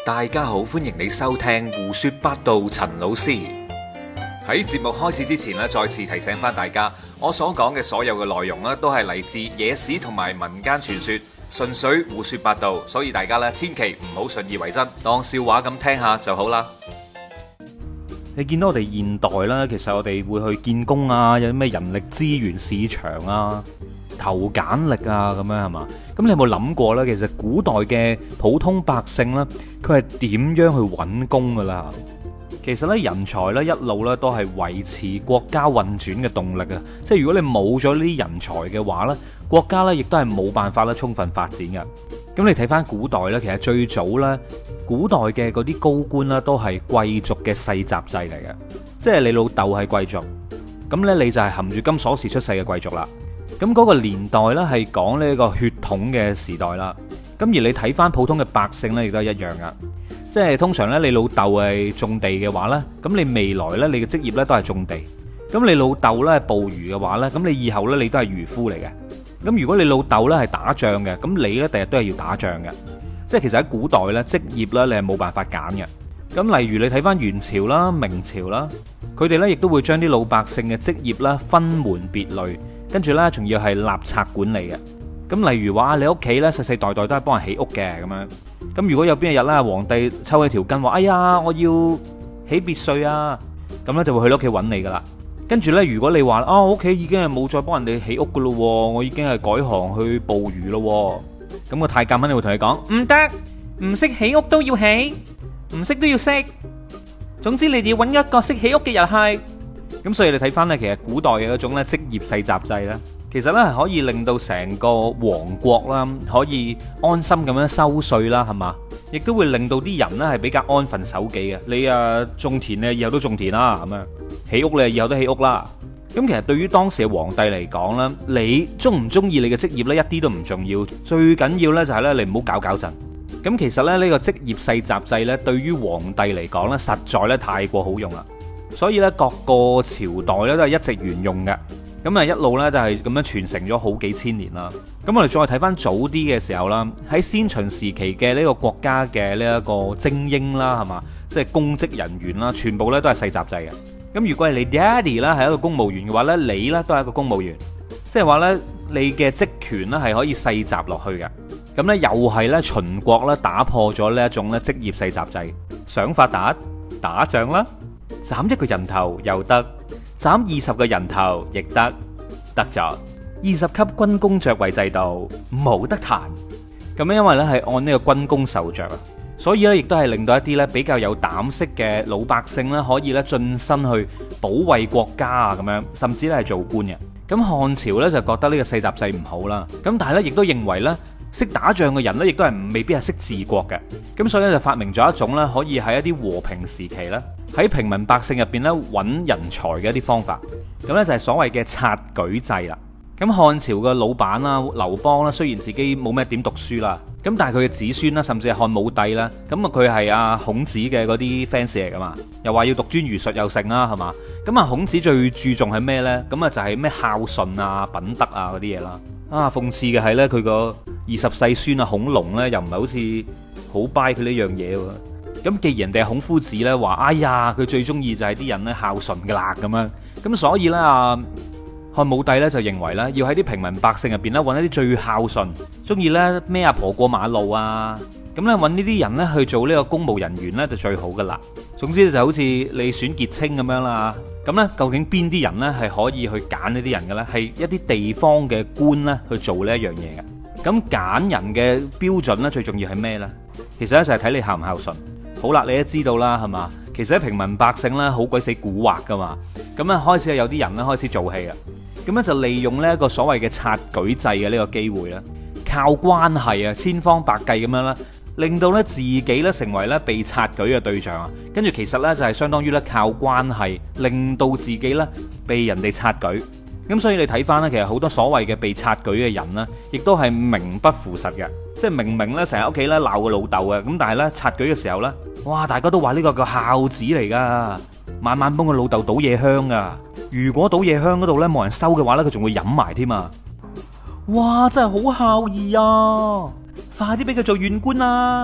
大家好，歡迎你收聽胡說八道。陳老師喺節目開始之前咧，再次提醒翻大家，我所講嘅所有嘅內容咧，都係嚟自野史同埋民間傳說，純粹胡說八道，所以大家咧千祈唔好信以為真，當笑話咁聽下就好啦。 你見到我哋現代啦，其實我哋會去見工啊，有啲咩人力資源市場啊、投簡歷啊咁樣係嘛？咁你有冇諗過呢？其實古代嘅普通百姓呢，佢係點樣去揾工噶啦？其實呢，人才呢一路呢都係維持國家運轉嘅動力啊！即係如果你冇咗呢啲人才嘅話呢，國家呢亦都係冇辦法咧充分發展嘅。咁你睇翻古代呢，其實最早呢，古代嘅嗰啲高官呢都係貴族嘅世襲制嚟嘅，即係你老豆係貴族，咁呢你就係含住金鎖匙出世嘅貴族啦。咁嗰個年代呢係講呢個血統嘅時代啦。咁而你睇翻普通嘅百姓呢，亦都係一樣噶。即係通常呢，你老豆係種地嘅話呢，咁你未來呢，你嘅職業呢都係種地。咁你老豆呢係捕魚嘅話呢，咁你以後呢，你都係漁夫嚟嘅。咁如果你老豆呢係打仗嘅，咁你呢第日都係要打仗嘅。即係其實喺古代呢，職業呢你係冇辦法揀嘅。咁例如你睇翻元朝啦、明朝啦，佢哋呢亦都會將啲老百姓嘅職業呢分門別類，跟住呢仲要係立冊管理嘅。咁例如話你屋企呢世世代代都係幫人起屋嘅咁樣。咁如果有邊一日啦，皇帝抽起條筋話：哎呀，我要起別墅啊！咁呢就會去屋企揾你噶啦。跟住呢，如果你話我屋企已經係冇再幫人哋起屋噶咯，我已經係改行去捕魚咯。咁個太監肯定會同你講：唔得，唔識起屋都要起，唔識都要識。總之你哋要揾一個識起屋嘅人去。咁所以你睇翻呢，其實古代嘅嗰種咧職業世襲制呢，其實呢係可以令到成個王國啦，可以安心咁樣收稅啦，係嘛？亦都會令到啲人呢係比較安分守己嘅。你啊種田呢，以後都種田啦，咁樣起屋你以後都起屋啦。咁其實對於當時嘅皇帝嚟講呢，你中唔中意你嘅職業呢，一啲都唔重要，最緊要呢就係呢，你唔好搞震。咁其實呢個職業世襲制呢，對於皇帝嚟講呢，實在呢太過好用啦。所以呢，各個朝代呢都係一直沿用嘅。咁啊一路呢就係咁樣傳承咗好幾千年啦。咁我哋再睇翻早啲嘅時候啦，喺先秦時期嘅呢個國家嘅呢一個精英啦，係嘛，即係公職人員啦，全部呢都係世襲制嘅。咁如果係你爹哋啦係一個公務員嘅話呢，你呢都係一個公務員，即係話呢，你嘅職權呢係可以世襲落去嘅。咁呢又係呢，秦國呢打破咗呢一種呢職業世襲制，想發達打仗啦，斬一個人頭又得，斬20個人頭亦得咗20級軍功爵位制度冇得彈。咁因為呢係按呢個軍功授爵啊，所以呢亦都係令到一啲呢比較有膽識嘅老百姓呢可以呢晉身去保衛國家啊，咁樣甚至呢係做官嘅。咁漢朝呢就覺得呢個世襲制唔好啦，咁但係呢亦都認為呢識打仗嘅人呢亦都係未必係識治國嘅。咁所以呢就發明咗一種呢可以喺一啲和平時期呢喺平民百姓入邊呢揾人才嘅一啲方法。咁呢就係所謂嘅察舉制啦。咁漢朝嘅老闆啦，劉邦啦，雖然自己冇咩點讀書啦，咁但係佢嘅子孫啦，甚至係漢武帝啦，咁啊佢係阿孔子嘅嗰啲 fans 嚟噶嘛，又話要讀專儒術又成啦，係嘛？咁啊孔子最注重係咩呢？咁啊就係咩孝順啊、品德啊嗰啲嘢啦。啊，諷刺嘅係呢，佢個20世孫啊孔融呢，又唔係好似好 buy 佢呢樣嘢喎。咁既然人哋係孔夫子呢話，哎呀佢最中意就係啲人呢孝順噶啦咁樣，咁所以呢，漢武帝咧就認為咧，要喺啲平民百姓入邊咧揾一啲最孝順、中意咧孭阿婆過馬路啊，咁咧揾呢啲人咧去做呢個公務人員咧就最好噶啦。總之就好似你選傑青咁樣啦。咁咧究竟邊啲人咧係可以去揀呢啲人嘅咧？係一啲地方嘅官咧去做呢一樣嘢嘅。咁揀人嘅標準咧最重要係咩咧？其實咧就係睇你孝唔孝順。好啦，你都知道啦，係嘛？其實喺平民百姓咧好鬼死蠱惑噶嘛。咁咧開始有啲人咧開始做戲啊。咁咧就利用呢一個所謂嘅察舉制嘅呢個機會啦，靠關係啊，千方百計咁樣啦，令到咧自己咧成為咧被察舉嘅對象啊。跟住其實咧就係相當於咧靠關係，令到自己咧被人哋察舉。咁所以你睇翻咧，其實好多所謂嘅被察舉嘅人呢，亦都係名不符實嘅。即係明明咧成日屋企咧鬧個老豆嘅，咁但係咧察舉嘅時候咧，哇！大家都話呢個叫孝子嚟噶，晚晚幫個老豆倒夜香噶。如果倒夜香嗰度咧冇人收嘅話咧，佢仲會飲埋添啊！哇！真係好孝義啊！快啲俾佢做縣官啊！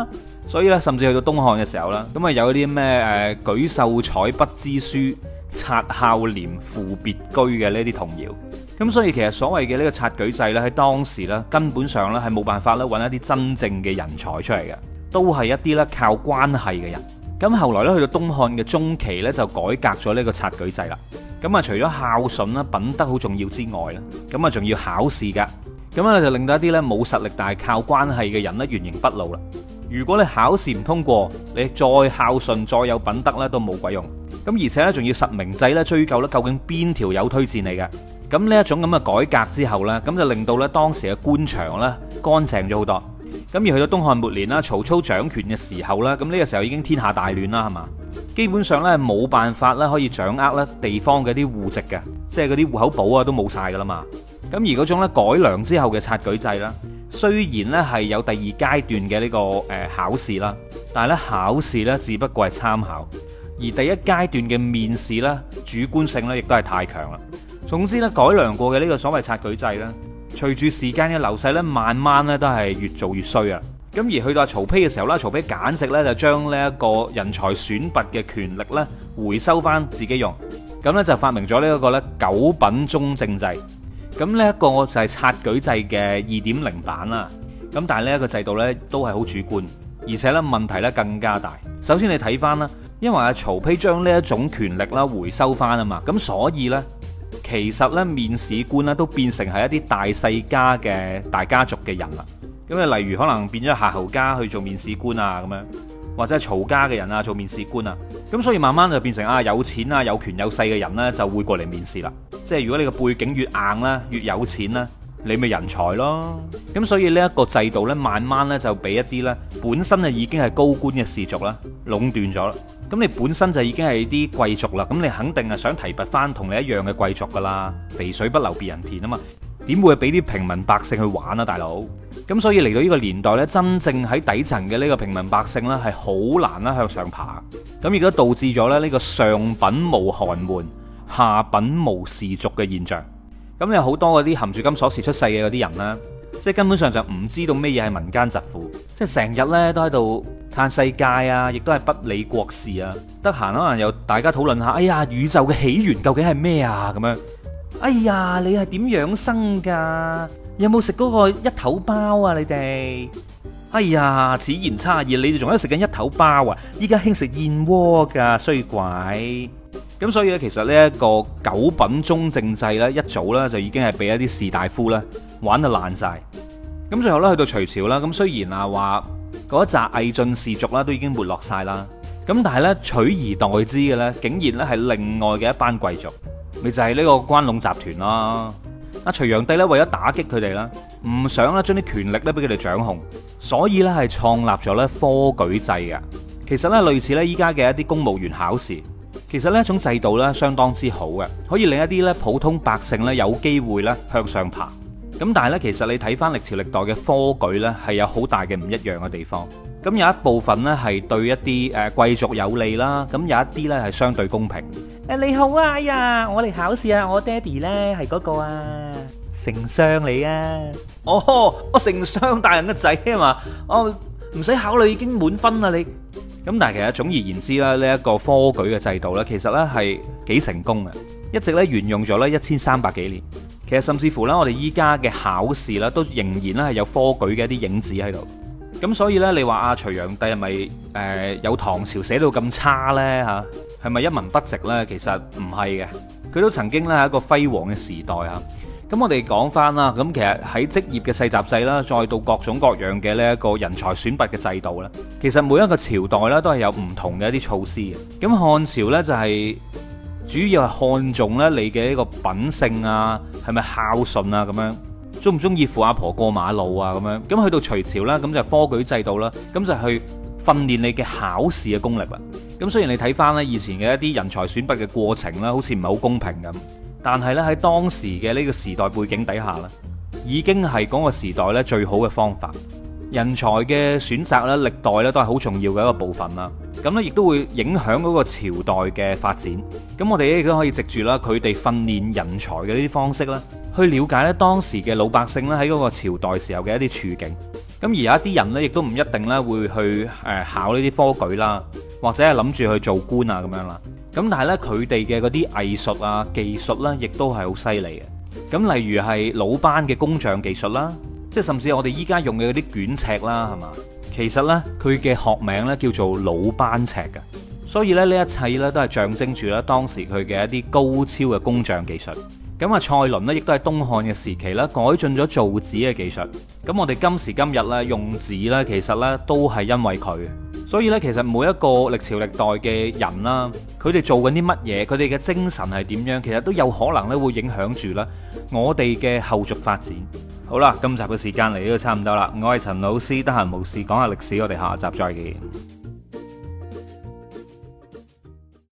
所以咧，甚至去到東漢嘅時候啦，咁啊有啲咩舉秀才不知書，察孝廉父別居嘅呢啲童謠。咁所以其實所謂嘅呢個察舉制咧，喺當時咧根本上咧係冇辦法咧揾一啲真正嘅人才出嚟嘅，都係一啲咧靠關係嘅人。咁後來咧去到東漢嘅中期咧，就改革咗呢個察舉制啦。咁啊除咗孝順啦、品德好重要之外咧，咁啊仲要考試噶。咁啊就令到一啲咧冇實力但係靠關係嘅人咧原形畢露啦。如果你考試唔通過，你再孝順再有品德咧都冇鬼用。咁而且咧仲要實名制咧追究咧究竟邊條友推薦你嘅。咁呢一種咁嘅改革之後呢，咁就令到咧當時嘅官場咧乾淨咗好多。咁而去到東漢末年啦，曹操掌權嘅時候啦，咁呢個時候已經天下大亂啦，係嘛？基本上咧冇辦法咧可以掌握咧地方嘅啲戶籍嘅，即係嗰啲戶口簿啊都冇晒噶啦嘛。咁而嗰種咧改良之後嘅察舉制啦，雖然咧係有第二階段嘅呢個考試啦，但係咧考試咧只不過係參考，而第一階段嘅面試咧主觀性咧亦都係太強啦。總之咧，改良過嘅呢個所謂察舉制咧，隨住時間嘅流逝咧，慢慢咧都係越做越衰啊！咁而去到曹丕嘅時候咧，曹丕簡直咧就將呢一個人才選拔嘅權力咧回收翻自己用，咁咧就發明咗呢一個咧九品中正制。咁呢一個就係察舉制嘅2.0版啦。咁但係呢一個制度咧都係好主觀，而且咧問題咧更加大。首先你睇翻啦，因為阿曹丕將呢一種權力啦回收翻啊嘛，咁所以咧。其實咧，面試官咧都變成係一啲大世家嘅大家族嘅人啦。咁啊，例如可能變咗夏侯家去做面試官啊，咁樣或者係曹家嘅人啊做面試官啊。咁所以慢慢就變成啊有錢啊有權有勢嘅人呢就會過嚟面試啦。即係如果你個背景越硬啦，越有錢啦，你咪人才咯。咁所以呢一個制度呢，慢慢呢就俾一啲呢本身啊已經係高官嘅士族啦壟斷咗啦。咁你本身就已經係啲貴族啦，咁你肯定係想提拔翻同你一樣嘅貴族噶啦，肥水不流別人田啊嘛，點會俾啲平民百姓去玩啊，大佬？咁所以嚟到呢個年代呢，真正喺底層嘅呢個平民百姓呢，係好難啦向上爬，咁亦都導致咗咧呢個上品無寒門，下品無士族嘅現象。咁有好多嗰啲含住金鎖匙出世嘅嗰啲人呢，即係根本上就唔知道咩嘢係民間疾苦，即係成日呢都喺度嘆世界啊，亦都係不理國事啊。得閒可能又大家討論下，哎呀，宇宙嘅起源究竟係咩啊？咁樣，哎呀，你係點養生噶？有冇食嗰個一頭包啊？你哋，哎呀，此言差矣，你哋仲喺度食緊一頭包啊？依家興食燕窩噶，衰鬼！咁所以咧，其實呢一個九品中正制咧，一早咧就已經係俾一啲士大夫咧玩到爛晒。咁最後咧去到隋朝啦，咁雖然啊話嗰一紮魏晉士族啦都已經沒落晒啦，咁但係咧取而代之嘅咧，竟然咧係另外嘅一班貴族，咪就係呢個關隴集團啦。阿隋煬帝咧為咗打擊佢哋啦，唔想咧將啲權力咧俾佢哋掌控，所以咧係創立咗咧科舉制嘅。其實咧類似咧依家嘅一啲公務員考試。其實呢一種制度咧相當之好嘅，可以令一啲咧普通百姓咧有機會咧向上爬。咁但係咧，其實你睇翻歷朝歷代嘅科舉咧，係有好大嘅唔一樣嘅地方。咁有一部分咧係對一啲貴族有利啦，咁有一啲咧係相對公平。你好啊，哎呀，我嚟考試啊，我爹哋咧係嗰個啊丞相嚟啊。哦，我丞相大人嘅仔啊嘛，我唔使考慮已經滿分啦你。咁但係其實總而言之啦，呢一個科舉嘅制度呢，其實呢係幾成功嘅，一直呢沿用咗呢1300幾年。其實甚至乎呢，我哋依家嘅考試呢，都仍然呢係有科舉嘅一啲影子喺度。咁所以呢，你話阿隋煬帝係咪有唐朝寫到咁差呢？吓，係咪一文不值呢？其實唔係嘅，佢都曾經呢係一個輝煌嘅時代吓。咁我哋講翻啦，咁其實喺職業嘅世襲制啦，再到各種各樣嘅呢一個人才選拔嘅制度啦，其實每一個朝代咧都係有唔同嘅一啲措施嘅。咁漢朝呢，就係主要係看重咧你嘅呢個品性啊，係咪孝順啊咁樣，中唔中意扶阿婆過馬路啊咁樣。咁去到隋朝啦，咁就科舉制度啦，咁就去訓練你嘅考試嘅功力啦。咁雖然你睇翻咧以前嘅一啲人才選拔嘅過程啦，好似唔係好公平咁。但係咧喺當時嘅呢個時代背景底下咧，已經係嗰個時代咧最好嘅方法。人才嘅選擇咧，歷代咧都係好重要嘅一個部分啦。咁咧亦都會影響嗰個朝代嘅發展。咁我哋亦都可以藉住啦佢哋訓練人才嘅呢啲方式啦，去了解咧當時嘅老百姓咧喺嗰個朝代時候嘅一啲處境。 咁而有一啲人呢，亦都唔一定咧會去考呢啲科舉啦，或者係諗住去做官啊咁樣啦。咁但係呢，佢哋嘅嗰啲藝術啊、技術呢，亦都係好犀利嘅。咁例如係魯班嘅工匠技術啦，即係甚至我哋依家用嘅嗰啲卷尺啦，係嘛？其實呢，佢嘅學名呢叫做魯班尺嘅。所以咧，呢一切呢，都係象徵住咧當時佢嘅一啲高超嘅工匠技術。咁啊，蔡倫呢，亦都係東漢嘅時期咧改進咗造紙嘅技術。咁我哋今時今日咧用紙呢，其實呢都係因為佢。所以呢，其實每一個歷朝歷代嘅人啦，佢哋做緊啲乜嘢，佢哋嘅精神係點樣，其實都有可能咧會影響住啦我哋嘅後續發展。好啦，今集嘅時間嚟到差唔多啦，我係陳老師，得閒無事講下歷史，我哋下集再見。